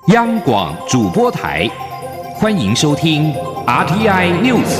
央广主播台，欢迎收听 RTI News。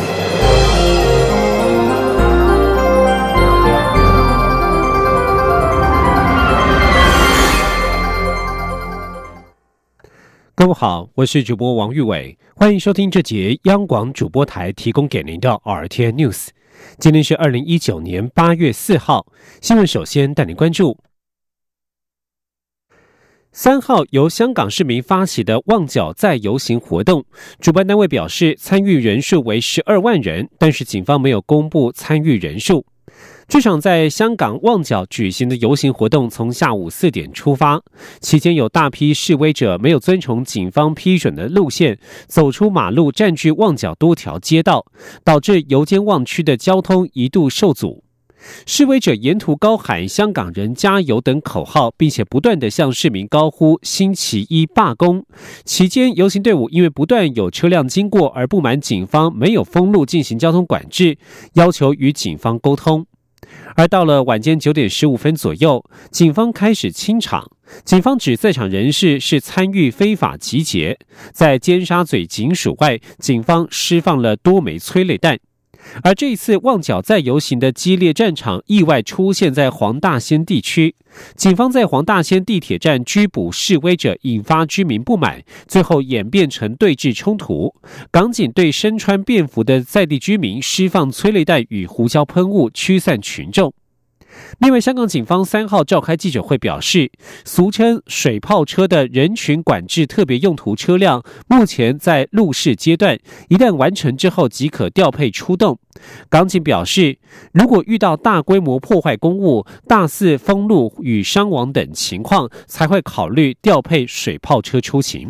各位好，我是主播王玉伟，欢迎收听这节央广主播台提供给您的 RTI News。今天是2019年8月4号，新闻首先带您关注。3号由香港市民发起的旺角再游行活动，主办单位表示参与人数为12万人，但是警方没有公布参与人数。这场在香港旺角举行的游行活动从下午4点出发，期间有大批示威者没有遵从警方批准的路线，走出马路占据旺角多条街道，导致油尖旺区的交通一度受阻。示威者沿途高喊香港人加油等口号，并且不断地向市民高呼星期一罢工。期间游行队伍因为不断有车辆经过而不满警方没有封路进行交通管制，要求与警方沟通。而到了晚间9点15分左右，警方开始清场。警方指在场人士是参与非法集结，在尖沙咀警署外，警方释放了多枚催泪弹。而这一次旺角再游行的激烈战场意外出现在黄大仙地区，警方在黄大仙地铁站拘捕示威者，引发居民不满，最后演变成对峙冲突。港警对身穿便服的在地居民释放催泪弹与胡椒喷雾驱散群众。另外，香港警方3号召开记者会表示，俗称水炮车的人群管制特别用途车辆目前在路试阶段，一旦完成之后即可调配出动。港警表示，如果遇到大规模破坏公物、大肆封路与伤亡等情况，才会考虑调配水炮车出勤。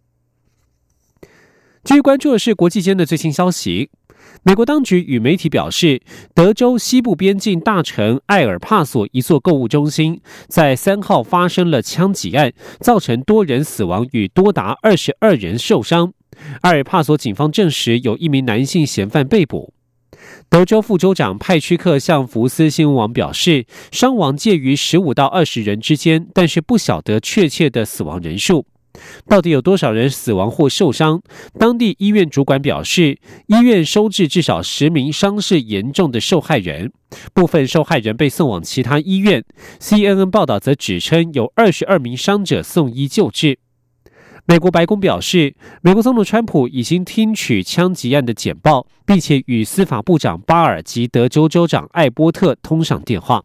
至于关注的是国际间的最新消息。美国当局与媒体表示，德州西部边境大城埃尔帕索一座购物中心在3号发生了枪击案，造成多人死亡与多达22人受伤。埃尔帕索警方证实有一名男性嫌犯被捕。德州副州长派屈克向福斯新闻网表示，伤亡介于15到20人之间，但是不晓得确切的死亡人数。到底有多少人死亡或受伤？当地医院主管表示，医院收治至少10名伤势严重的受害人，部分受害人被送往其他医院。CNN 报道则指称有22名伤者送医救治。美国白宫表示，美国总统川普已经听取枪击案的简报，并且与司法部长巴尔及德州州长艾波特通上电话。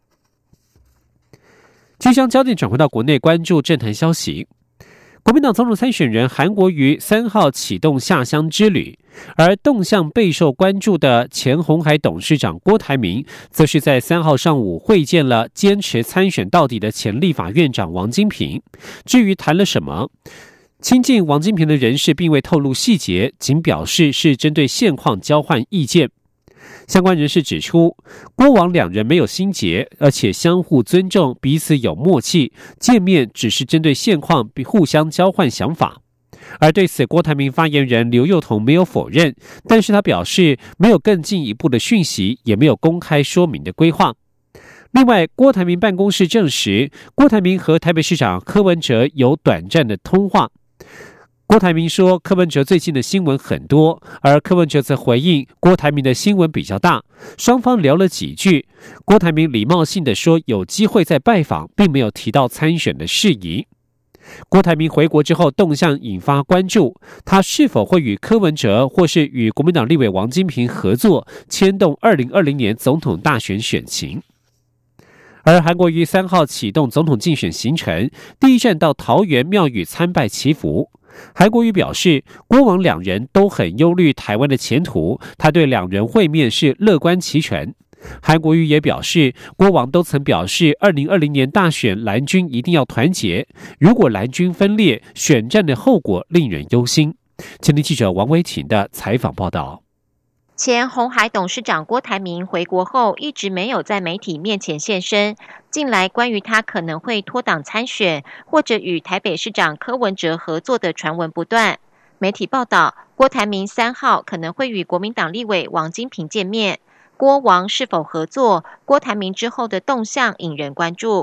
即将焦点转回到国内，关注政坛消息。国民党总统参选人韩国瑜3号启动下乡之旅，而动向备受关注的前鸿海董事长郭台铭，则是在3号上午会见了坚持参选到底的前立法院长王金平。至于谈了什么，亲近王金平的人士并未透露细节，仅表示是针对现况交换意见。相关人士指出，郭王两人没有心结，而且相互尊重，彼此有默契，见面只是针对现况互相交换想法。而对此，郭台铭发言人刘宥彤没有否认，但是他表示没有更进一步的讯息，也没有公开说明的规划。另外，郭台铭办公室证实，郭台铭和台北市长柯文哲有短暂的通话。郭台铭说，柯文哲最近的新闻很多，而柯文哲则回应郭台铭的新闻比较大。双方聊了几句，郭台铭礼貌性的说有机会再拜访，并没有提到参选的事宜。郭台铭回国之后动向引发关注，他是否会与柯文哲或是与国民党立委王金平合作，牵动2020年总统大选选情。而韩国瑜3号启动总统竞选行程，第一站到桃园庙宇参拜祈福。韩国瑜表示，郭王两人都很忧虑台湾的前途，他对两人会面是乐观其成。韩国瑜也表示，郭王都曾表示2020年大选蓝军一定要团结，如果蓝军分裂，选战的后果令人忧心。前天记者王维婷的采访报道。 前鸿海董事长郭台铭回国后一直没有在媒体面前现身，近来关于他可能会脱党参选或者与台北市长柯文哲合作的传闻不断。媒体报道，郭台铭3号可能会与国民党立委王金平见面，郭王是否合作，郭台铭之后的动向引人关注。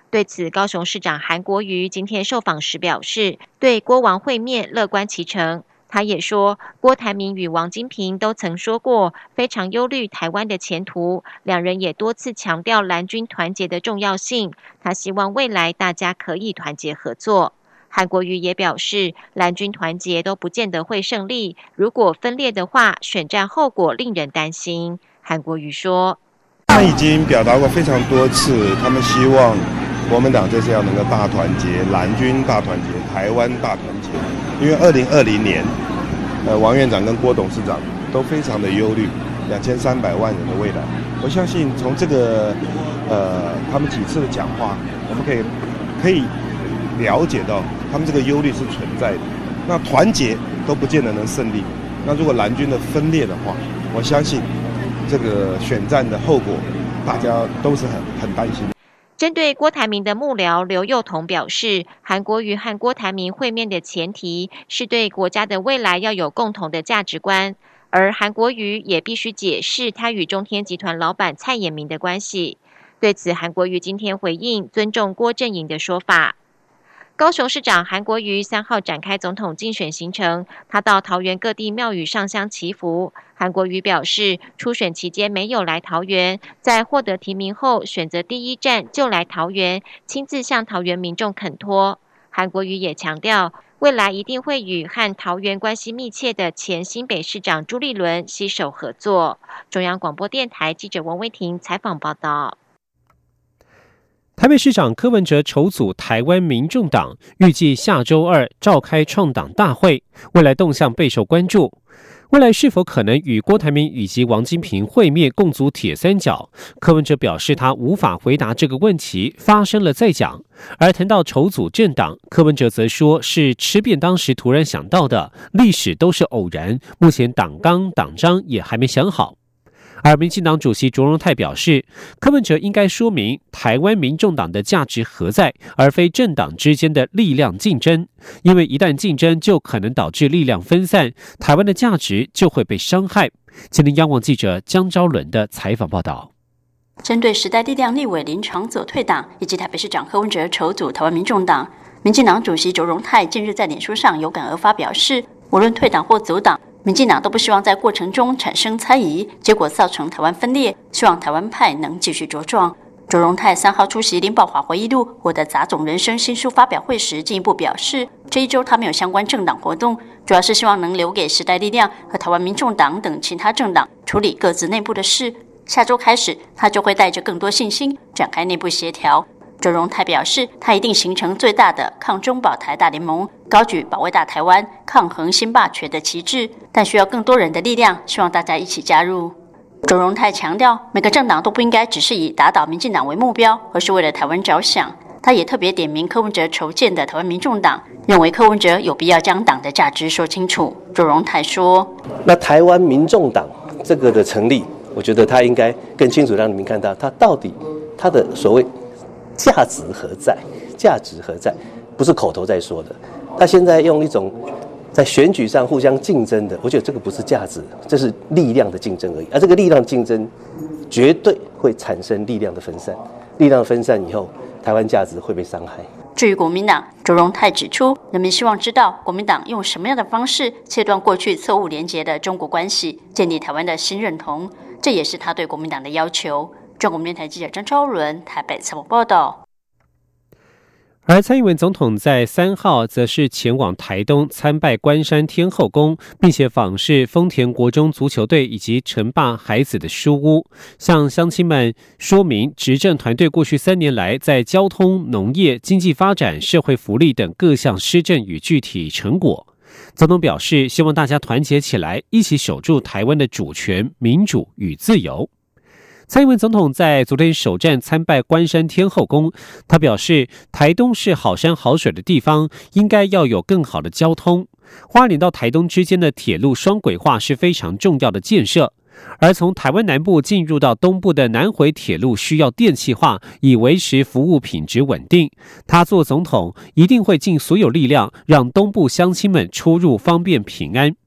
对此，高雄市长韩国瑜今天受访时表示，对郭王会面乐观其成。他也说，郭台铭与王金平都曾说过非常忧虑台湾的前途，两人也多次强调蓝军团结的重要性。他希望未来大家可以团结合作。韩国瑜也表示，蓝军团结都不见得会胜利，如果分裂的话，选战后果令人担心。韩国瑜说， 他们已经表达过非常多次，他们希望国民党这次要能够大团结，蓝军大团结，台湾大团结。因为2020年，王院长跟郭董事长都非常的忧虑2300万人的未来。我相信从这个他们几次的讲话，我们可以了解到他们这个忧虑是存在的。那团结都不见得能胜利，那如果蓝军的分裂的话，我相信这个选战的后果，大家都是很担心。 针对郭台铭的幕僚刘宥彤表示，韩国瑜和郭台铭会面的前提是对国家的未来要有共同的价值观，而韩国瑜也必须解释他与中天集团老板蔡衍明的关系。对此，韩国瑜今天回应尊重郭阵营的说法。高雄市长韩国瑜3号展开总统竞选行程，他到桃园各地庙宇上香祈福。韩国瑜表示，初选期间没有来桃园，在获得提名后，选择第一站就来桃园，亲自向桃园民众恳托。韩国瑜也强调，未来一定会与和桃园关系密切的前新北市长朱立伦携手合作。中央广播电台记者王威婷采访报道。 台北市长柯文哲筹组台湾民众党，预计下周2召开创党大会，未来动向备受关注。未来是否可能与郭台铭以及王金平会面共组铁三角？柯文哲表示他无法回答这个问题，发生了再讲。而谈到筹组政党，柯文哲则说是吃便当时突然想到的，历史都是偶然，目前党纲党章也还没想好。而民进党主席卓荣泰表示，柯文哲应该说明台湾民众党的价值何在，而非政党之间的力量竞争，因为一旦竞争就可能导致力量分散，台湾的价值就会被伤害。今天央广记者江昭伦的采访报道。 针对时代力量立委林昶佐退党，以及台北市长柯文哲筹组台湾民众党，民进党主席卓荣泰近日在脸书上有感而发表示，无论退党或组党，民进党都不希望在过程中产生猜疑，结果造成台湾分裂，希望台湾派能继续茁壮。卓荣泰3号出席林宝华回忆录《我的杂种人生》新书发表会时，进一步表示，这一周他没有相关政党活动，主要是希望能留给时代力量和台湾民众党等其他政党处理各自内部的事。下周开始，他就会带着更多信心展开内部协调。卓荣泰表示，他一定形成最大的抗中保台大联盟，高举保卫大台湾、抗衡新霸权的旗帜，但需要更多人的力量，希望大家一起加入。卓荣泰强调，每个政党都不应该只是以打倒民进党为目标，而是为了台湾着想。他也特别点名柯文哲筹建的台湾民众党，认为柯文哲有必要将党的价值说清楚。卓荣泰说， 那台湾民众党这个的成立，我觉得他应该更清楚让你们看到他到底他的所谓价值何在？价值何在？不是口头在说的。他现在用一种在选举上互相竞争的，我觉得这个不是价值，这是力量的竞争而已。而这个力量竞争绝对会产生力量的分散，力量分散以后，台湾价值会被伤害。 至于国民党，卓荣泰指出，人民希望知道国民党用什么样的方式切断过去错误连结的中国关系，建立台湾的新认同，这也是他对国民党的要求。中国电台记者张昭伦台北采访报道。 而蔡英文总统在3号则是前往台东参拜关山天后宫，并且访视丰田国中足球队以及城霸孩子的书屋，向乡亲们说明执政团队过去3年来在交通、农业、经济发展、社会福利等各项施政与具体成果。总统表示，希望大家团结起来，一起守住台湾的主权、民主与自由。蔡英文总统在昨天首站参拜关山天后宫，他表示，台东是好山好水的地方，应该要有更好的交通。花莲到台东之间的铁路双轨化是非常重要的建设，而从台湾南部进入到东部的南回铁路需要电气化，以维持服务品质稳定。他做总统一定会尽所有力量，让东部乡亲们出入方便平安。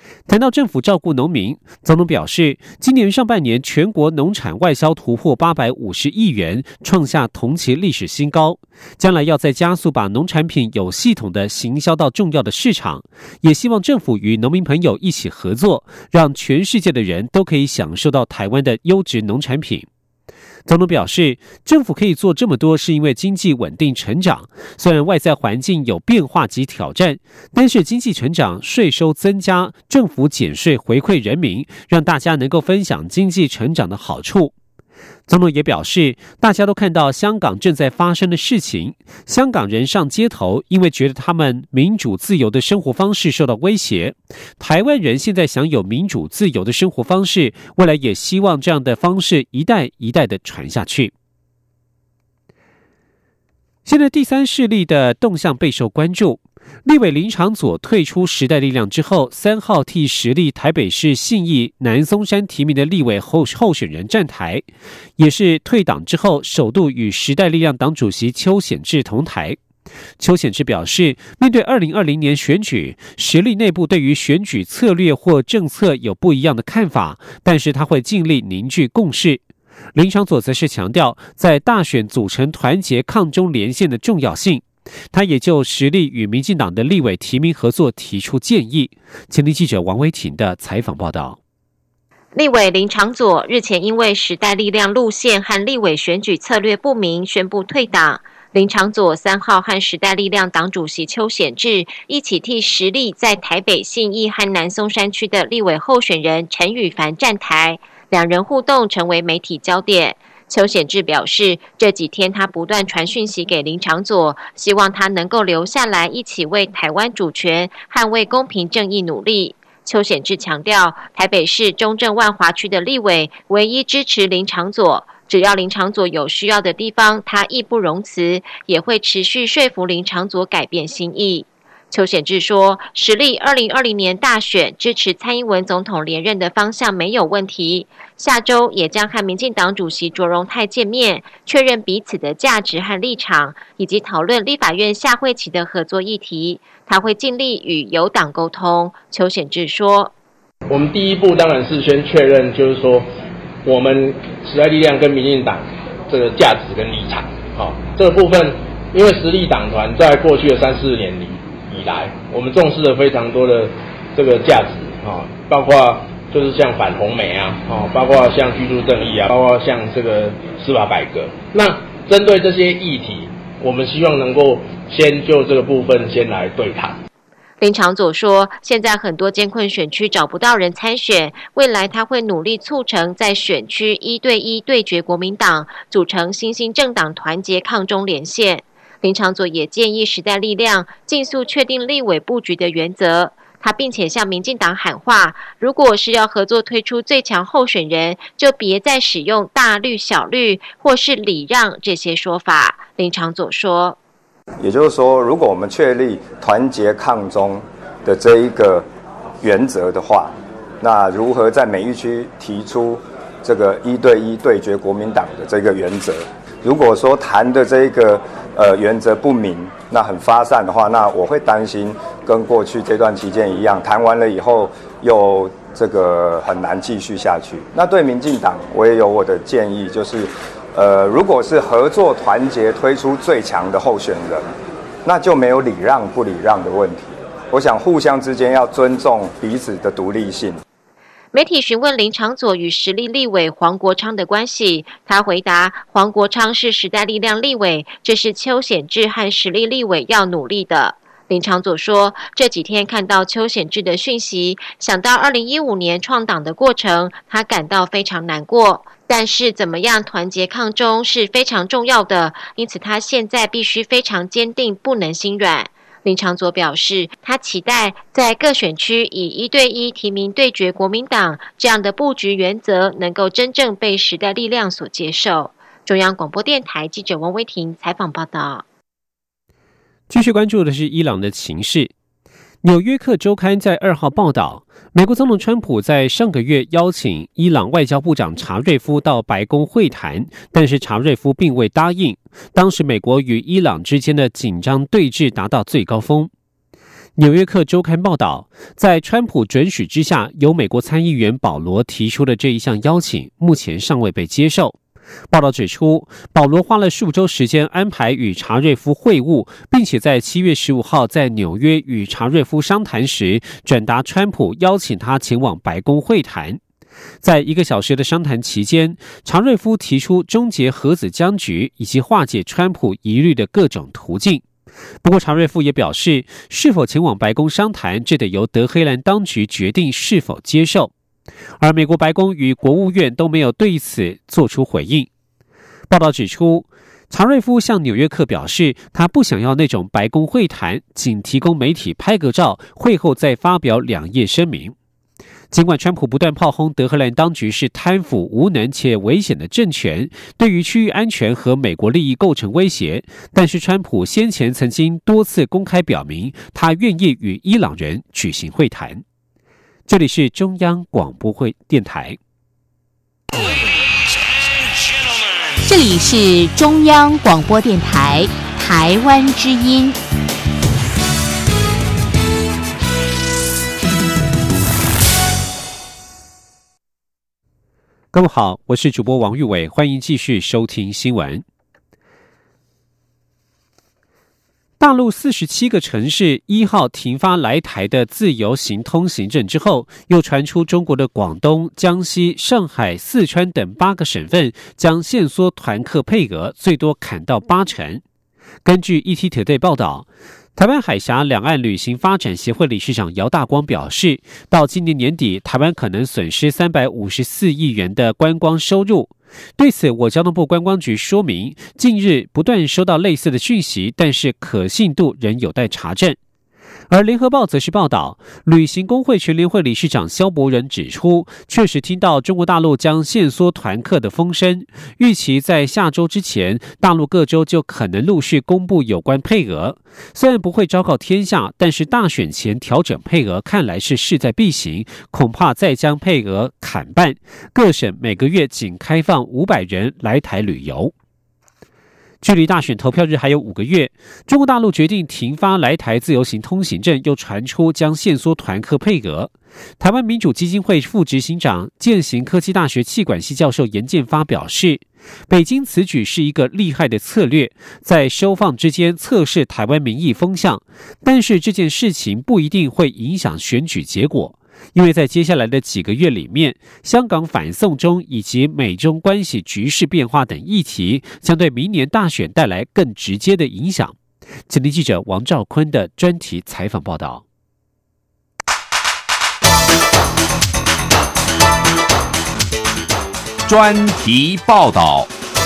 谈到政府照顾农民，总统表示，今年上半年全国农产外销突破850亿元，创下同期历史新高。将来要再加速把农产品有系统的行销到重要的市场，也希望政府与农民朋友一起合作，让全世界的人都可以享受到台湾的优质农产品。总统表示，政府可以做这么多是因为经济稳定成长，虽然外在环境有变化及挑战，但是经济成长、税收增加、政府减税回馈人民，让大家能够分享经济成长的好处。总统也表示，大家都看到香港正在发生的事情，香港人上街头，因为觉得他们民主自由的生活方式受到威胁。台湾人现在享有民主自由的生活方式，未来也希望这样的方式一代一代的传下去。现在第三势力的动向备受关注。立委林长佐退出时代力量之后，3号替时力台北市信义南松山提名的立委候选人站台，也是退党之后首度与时代力量党主席邱显智同台。邱显智表示，面对2020年选举，时力内部对于选举策略或政策有不一样的看法，但是他会尽力凝聚共识。林长佐则是强调，在大选组成团结抗中连线的重要性。他也就时力与民进党的立委提名合作提出建议。前听记者王威婷的采访报道。 立委林长佐日前因为时代力量路线和立委选举策略不明，宣布退党。林长佐3号和时代力量党主席邱显智一起替时力在台北信义和南松山区的立委候选人陈宇凡站台，两人互动成为媒体焦点。邱显智表示，这几天他不断传讯息给林长佐，希望他能够留下来一起为台湾主权、捍卫公平正义努力。邱显智强调，台北市中正万华区的立委唯一支持林长佐，只要林长佐有需要的地方，他义不容辞，也会持续说服林长佐改变心意。邱显智说，时力2020年大选支持蔡英文总统连任的方向没有问题，下周也将和民进党主席卓荣泰见面，确认彼此的价值和立场，以及讨论立法院下会期的合作议题。他会尽力与友党沟通。邱显智说， 我们第一步当然是先确认，就是说我们时代力量跟民进党这个价值跟立场。这个部分，因为时力党团在过去的3-4年以来，我们重视了非常多的这个价值包括就是像反红媒包括像居住正义包括像这个司法改革。那针对这些议题，我们希望能够先就这个部分先来对谈。 林长佐说，现在很多艰困选区找不到人参选，未来他会努力促成在选区1对1对决国民党，组成新兴政党团结抗中连线。林长佐也建议时代力量尽速确定立委布局的原则。他并且向民进党喊话，如果是要合作推出最强候选人，就别再使用大绿小绿或是礼让这些说法。林长佐说， 也就是说，如果我们确立团结抗中的这一个原则的话，那如何在每一区提出这个1对1对决国民党的这个原则？如果说谈的这个原则不明，那很发散的话，那我会担心跟过去这段期间一样，谈完了以后又这个很难继续下去。那对民进党，我也有我的建议，就是如果是合作团结推出最强的候选人，那就没有礼让不礼让的问题。我想互相之间要尊重彼此的独立性。 媒体询问林长佐与时力立委黄国昌的关系，他回答，黄国昌是时代力量立委，这是邱显智和时力立委要努力的。林长佐说，这几天看到邱显智的讯息，想到2015年创党的过程，他感到非常难过，但是怎么样团结抗中是非常重要的，因此他现在必须非常坚定，不能心软。林长佐表示，他期待在各选区以1对1提名对决国民党这样的布局原则能够真正被时代力量所接受。中央广播电台记者王威婷采访报道。 继续关注的是伊朗的情势。纽约客周刊在2号报道，美国总统川普在上个月邀请伊朗外交部长查瑞夫到白宫会谈，但是查瑞夫并未答应。当时美国与伊朗之间的紧张对峙达到最高峰。 纽约客周刊报道，在川普准许之下，由美国参议员保罗提出的这一项邀请，目前尚未被接受。报道指出，保罗花了数周时间安排与查瑞夫会晤，并且在7月15号在纽约与查瑞夫商谈时，转达川普邀请他前往白宫会谈。在1个小时的商谈期间，查瑞夫提出终结核子僵局以及化解川普疑虑的各种途径。不过，查瑞夫也表示，是否前往白宫商谈，这得由德黑兰当局决定是否接受。而美国白宫与国务院都没有对此做出回应。报道指出，查瑞夫向纽约客表示，他不想要那种白宫会谈，仅提供媒体拍个照，会后再发表2页声明。尽管川普不断炮轰德黑兰当局是贪腐、无能且危险的政权，对于区域安全和美国利益构成威胁，但是川普先前曾经多次公开表明，他愿意与伊朗人举行会谈。这里是中央广播电台。 这里是中央广播电台台湾之音。 各位好，我是主播王玉伟，欢迎继续收听新闻。大陆47个城市1号停发来台的自由行通行证之后，又传出中国的广东、江西、上海、四川等8个省份将限缩团客配额，最多砍到80%。根据 ETtoday 报道，台湾海峡两岸旅行发展协会理事长姚大光表示，到今年年底，台湾可能损失354亿元的观光收入。对此，我交通部观光局说明，近日不断收到类似的讯息，但是可信度仍有待查证。而联合报则是报道，旅行工会全联会理事长萧伯仁指出，确实听到中国大陆将限缩团客的风声，预期在下周之前，大陆各州就可能陆续公布有关配额。虽然不会昭告天下，但是大选前调整配额看来是势在必行，恐怕再将配额砍半，各省每个月仅开放500人来台旅游。距离大选投票日还有5个月，中国大陆决定停发来台自由行通行证，又传出将限缩团客配额。台湾民主基金会副执行长、健行科技大学企管系教授严建发表示，北京此举是一个厉害的策略，在收放之间测试台湾民意风向，但是这件事情不一定会影响选举结果。因为在接下来的几个月里面，香港反送中以及美中关系局势变化等议题将对明年大选带来更直接的影响。前听记者王兆坤的专题采访报道。 专题报道。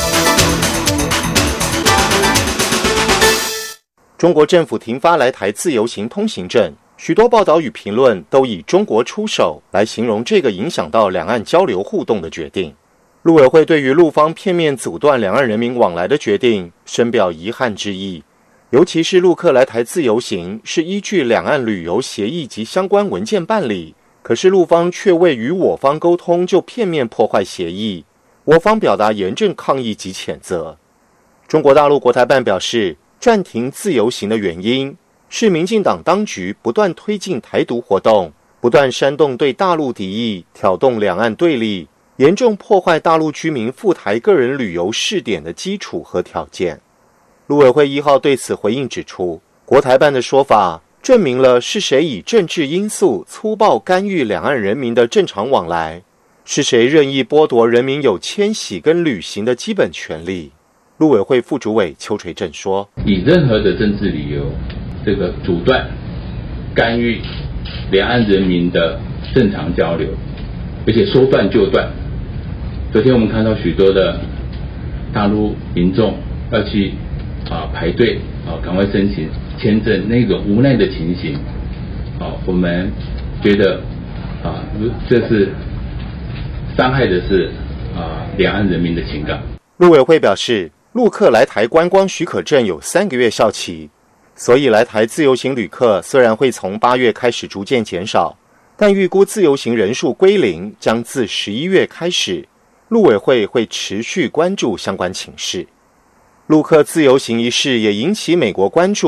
中国政府停发来台自由行通行证，许多报道与评论都以中国出手来形容这个影响到两岸交流互动的决定。陆委会对于陆方片面阻断两岸人民往来的决定深表遗憾之意，尤其是陆客来台自由行是依据两岸旅游协议及相关文件办理，可是陆方却未与我方沟通就片面破坏协议，我方表达严正抗议及谴责。中国大陆国台办表示，暂停自由行的原因是民进党当局不断推进台独活动，不断煽动对大陆敌意，挑动两岸对立，严重破坏大陆居民赴台个人旅游试点的基础和条件。陆委会1号对此回应指出，国台办的说法证明了是谁以政治因素粗暴干预两岸人民的正常往来，是谁任意剥夺人民有迁徙跟旅行的基本权利。陆委会副主委邱垂正说， 以任何的政治理由这个阻断干预两岸人民的正常交流，而且说断就断。昨天我们看到许多的大陆民众要去排队赶快申请签证，那种无奈的情形我们觉得这是伤害的是两岸人民的情感。 陆委会表示，陆客来台观光许可证有3个月效期，所以来台自由行旅客虽然会从8月开始逐渐减少，但预估自由行人数归零将自11月开始，陆委会会持续关注相关情势。陆客自由行一事也引起美国关注，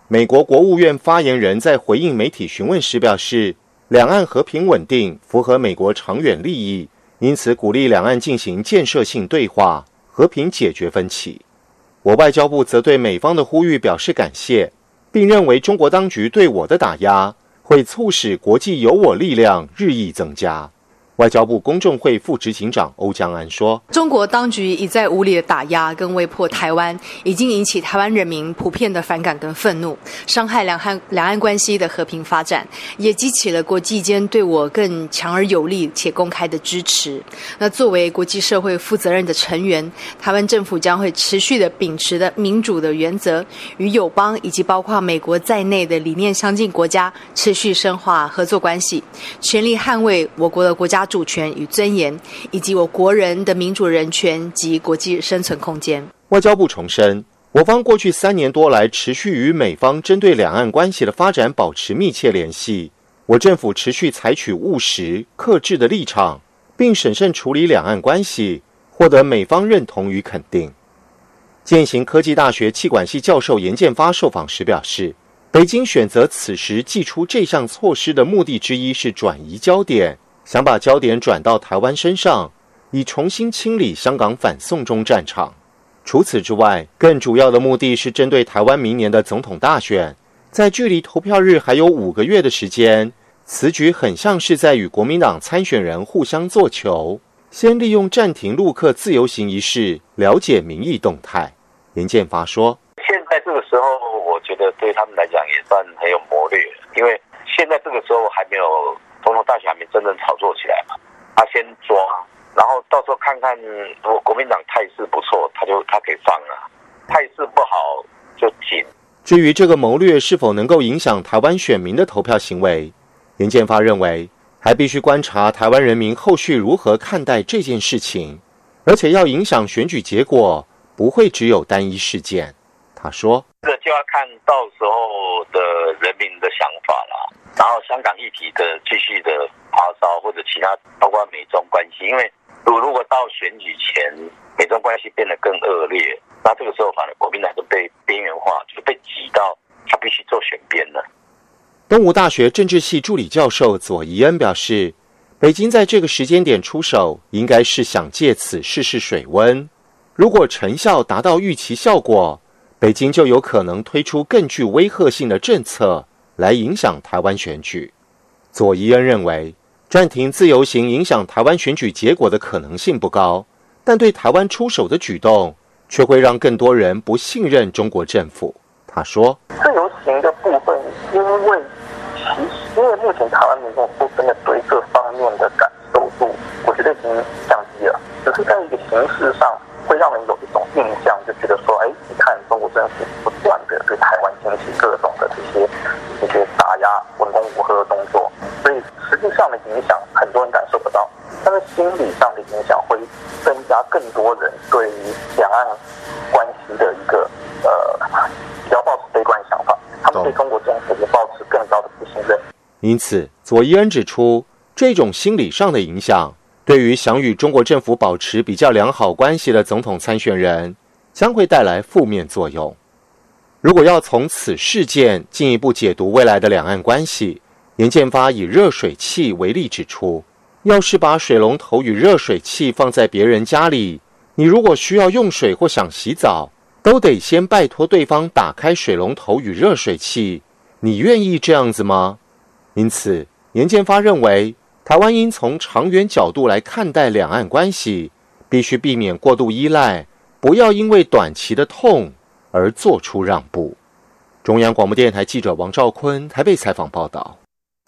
美国国务院发言人在回应媒体询问时表示，两岸和平稳定符合美国长远利益，因此鼓励两岸进行建设性对话，和平解决分歧。我外交部则对美方的呼吁表示感谢，并认为中国当局对我的打压会促使国际有我力量日益增加。外交部公政会副执行长欧江安说， 中国当局一再无理的打压跟威迫台湾，已经引起台湾人民普遍的反感跟愤怒，伤害两岸关系的和平发展，也激起了国际间对我更强而有力且公开的支持。那作为国际社会负责任的成员，台湾政府将会持续的秉持的民主的原则，与友邦以及包括美国在内的理念相近国家持续深化合作关系，全力捍卫我国的国家主权与尊严，以及我国人的民主人权及国际生存空间。 外交部重申，我方过去3年多来持续与美方针对两岸关系的发展保持密切联系，我政府持续采取务实、克制的立场，并审慎处理两岸关系，获得美方认同与肯定。践行科技大学企管系教授严建发受访时表示，北京选择此时祭出这项措施的目的之一是转移焦点，想把焦点转到台湾身上，以重新清理香港反送中战场。除此之外，更主要的目的是针对台湾明年的总统大选，在距离投票日还有5个月的时间，此举很像是在与国民党参选人互相做球，先利用暂停陆客自由行一事了解民意动态。严建发说， 现在这个时候我觉得对他们来讲也算很有谋略，因为现在这个时候还没有总统大选还没真正炒作起来嘛，他先抓，然后到时候看看如果国民党态势不错，他可以放了，态势不好就紧。 至于这个谋略是否能够影响台湾选民的投票行为，严建发认为还必须观察台湾人民后续如何看待这件事情，而且要影响选举结果，不会只有单一事件。他说， 这个就要看到时候的人民的想法啦，然后香港议题的继续的发烧，或者其他包括美中关系，因为如果到选举前美中关系变得更恶劣，那这个时候反而国民党就被边缘化，就被挤到他必须做选边了。 东吴大学政治系助理教授左宜恩表示，北京在这个时间点出手，应该是想借此试试水温，如果成效达到预期效果，北京就有可能推出更具威吓性的政策来影响台湾选举。左宜恩认为，暂停自由行影响台湾选举结果的可能性不高，但对台湾出手的举动却会让更多人不信任中国政府。他说， 自由行的部分，因为目前台湾民众说真的对这方面的感受度，我觉得已经降低了，只是在一个形式上会让人有一种印象，就觉得说，你看中国政府不断的对台湾进行各种的这些打压、文攻武吓的动作，所以实际上的影响很多人感受不到，但是心理上的影响会增加更多人对于两岸关系的一个比较抱持悲观的想法，他们对中国政府也抱持更高的不信任。 因此，左宜恩指出，这种心理上的影响，对于想与中国政府保持比较良好关系的总统参选人，将会带来负面作用。如果要从此事件进一步解读未来的两岸关系，严建发以热水器为例指出，要是把水龙头与热水器放在别人家里，你如果需要用水或想洗澡，都得先拜托对方打开水龙头与热水器，你愿意这样子吗？因此，严建发认为，台湾应从长远角度来看待两岸关系，必须避免过度依赖，不要因为短期的痛而做出让步。中央广播电台记者王兆坤台北采访报道。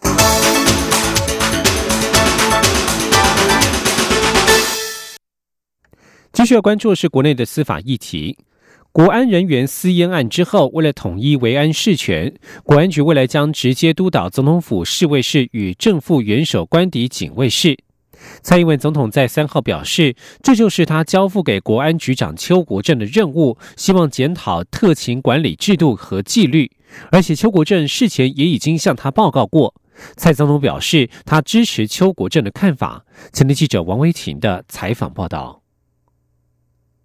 继续要关注的是国内的司法议题。国安人员私烟案之后，为了统一维安事权，国安局未来将直接督导总统府侍卫室与正副元首官邸警卫室。蔡英文总统在3号表示，这就是他交付给国安局长邱国正的任务，希望检讨特勤管理制度和纪律，而且邱国正事前也已经向他报告过。蔡总统表示，他支持邱国正的看法。前天记者王维婷的采访报道。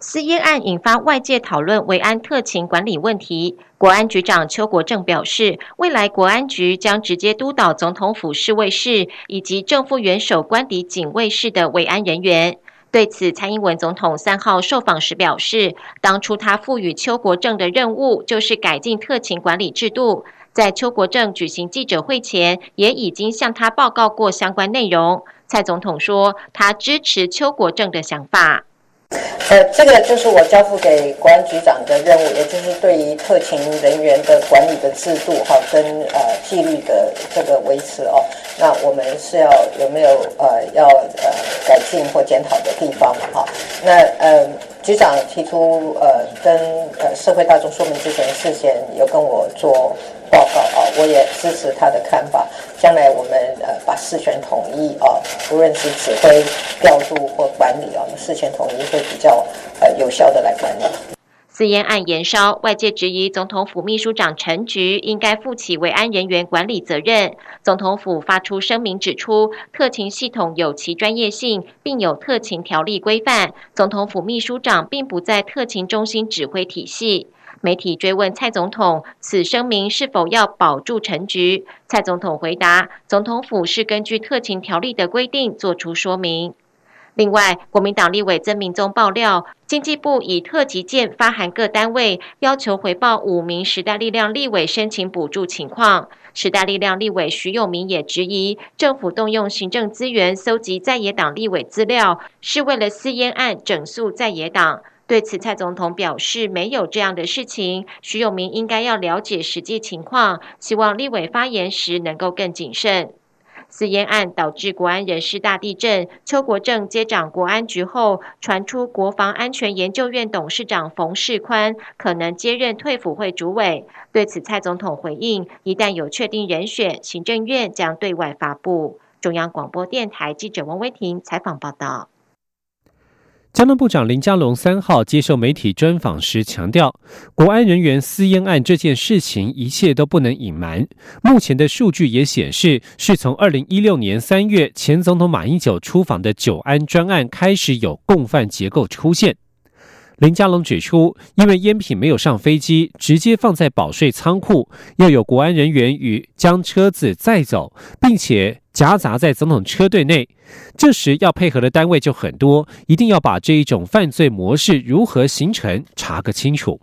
私烟案引发外界讨论维安特勤管理问题。国安局长邱国正表示，未来国安局将直接督导总统府侍卫室以及正副元首官邸警卫室的维安人员。对此，蔡英文总统3号受访时表示，当初他赋予邱国正的任务就是改进特勤管理制度。在邱国正举行记者会前，也已经向他报告过相关内容。蔡总统说，他支持邱国正的想法。 这个就是我交付给国安局长的任务，也就是对于特勤人员的管理的制度跟纪律的这个维持哦。那我们是有没有要改进或检讨的地方嘛哈？那局长提出跟社会大众说明之前，事先有跟我做报告啊，我也支持他的看法。将来我们把事权统一啊，无论是指挥、调度或管理啊，事权统一会比较有效的来管理。 私烟案延烧，外界质疑总统府秘书长陈菊应该负起维安人员管理责任。总统府发出声明指出，特勤系统有其专业性，并有特勤条例规范。总统府秘书长并不在特勤中心指挥体系。媒体追问蔡总统，此声明是否要保住陈菊？蔡总统回答，总统府是根据特勤条例的规定做出说明。另外，国民党立委曾明宗爆料，经济部以特急件发函各单位，要求回报5名时代力量立委申请补助情况。时代力量立委徐永明也质疑，政府动用行政资源搜集在野党立委资料，是为了私烟案整肃在野党。对此，蔡总统表示没有这样的事情，徐永明应该要了解实际情况，希望立委发言时能够更谨慎。私烟案导致国安人事大地震，邱国正接掌国安局后，传出国防安全研究院董事长冯世宽可能接任退辅会主委。对此，蔡总统回应，一旦有确定人选，行政院将对外发布。中央广播电台记者王威婷采访报道。 交通部长林佳龙3号接受媒体专访时强调，国安人员私烟案这件事情一切都不能隐瞒。目前的数据也显示，是从2016年3月前总统马英九出访的九安专案开始有共犯结构出现。林佳龙指出，因为烟品没有上飞机，直接放在保税仓库，要有国安人员与将车子载走，并且夹杂在总统车队内，这时要配合的单位就很多，一定要把这一种犯罪模式如何形成查个清楚。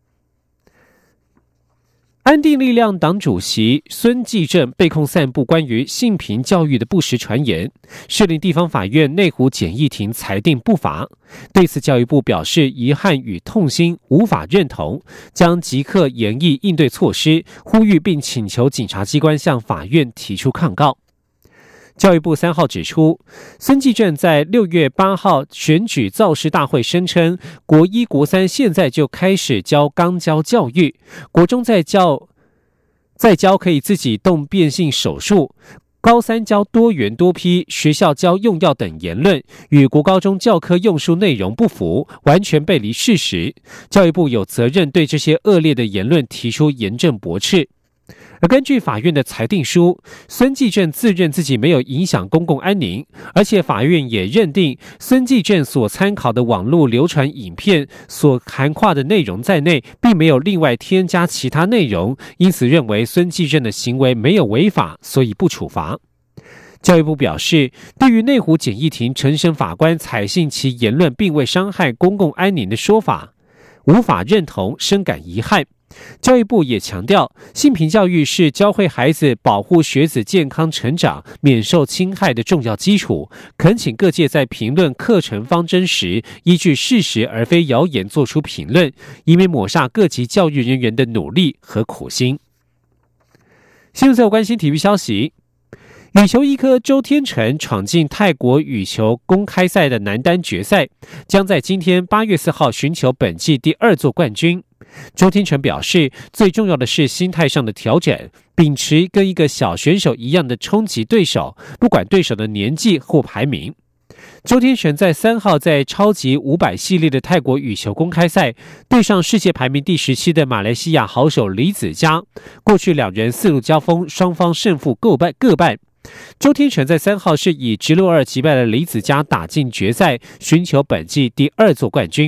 安定力量党主席孙继正被控散布关于性平教育的不实传言，士林地方法院内湖简易庭裁定不罚。对此，教育部表示遗憾与痛心，无法认同，将即刻研议应对措施，呼吁并请求警察机关向法院提出抗告。教育部3号指出，孙继正在6月8号选举造势大会声称，国1、国3现在就开始教肛交教育，国中在教可以自己动变性手术，高3教多元多批，学校教用药等言论，与国高中教科用书内容不符，完全背离事实。教育部有责任对这些恶劣的言论提出严正驳斥。而根据法院的裁定书，孙继正自认自己没有影响公共安宁，而且法院也认定孙继正所参考的网络流传影片所涵盖的内容在内，并没有另外添加其他内容，因此认为孙继正的行为没有违法，所以不处罚。教育部表示，对于内湖简易庭承审法官采信其言论并未伤害公共安宁的说法，无法认同，深感遗憾。教育部也强调，性平教育是教会孩子保护学子健康成长、免受侵害的重要基础，恳请各界在评论课程方针时，依据事实而非谣言做出评论，以免抹煞各级教育人员的努力和苦心。新闻最后关心体育消息。羽球一哥周天成闯进泰国羽球公开赛的男单决赛，将在今天8月4号寻求本季第2座冠军。周天成表示，最重要的是心态上的调整，秉持跟一个小选手一样的冲击对手，不管对手的年纪或排名。周天成在3号在超级500系列的泰国羽球公开赛对上世界排名第17的马来西亚好手李子嘉，过去2人4路交锋，双方胜负各半。周天成在3号是以直落2击败了李子嘉，打进决赛，寻求本季第2座冠军。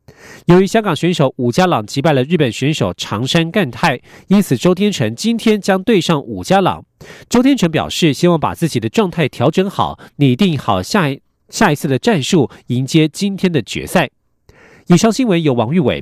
由于香港选手伍家朗击败了日本选手长山干太，因此周天成今天将对上伍家朗。周天成表示，希望把自己的状态调整好，拟定好下一次的战术，迎接今天的决赛。以上新闻由王玉伟、